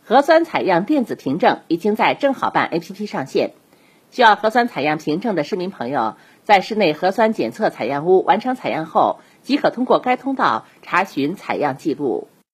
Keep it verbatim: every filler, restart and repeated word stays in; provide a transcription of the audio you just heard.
核酸采样电子凭证已经在正好办 A P P 上线。需要核酸采样凭证的市民朋友，在市内核酸检测采样屋完成采样后，即可通过该通道查询采样记录。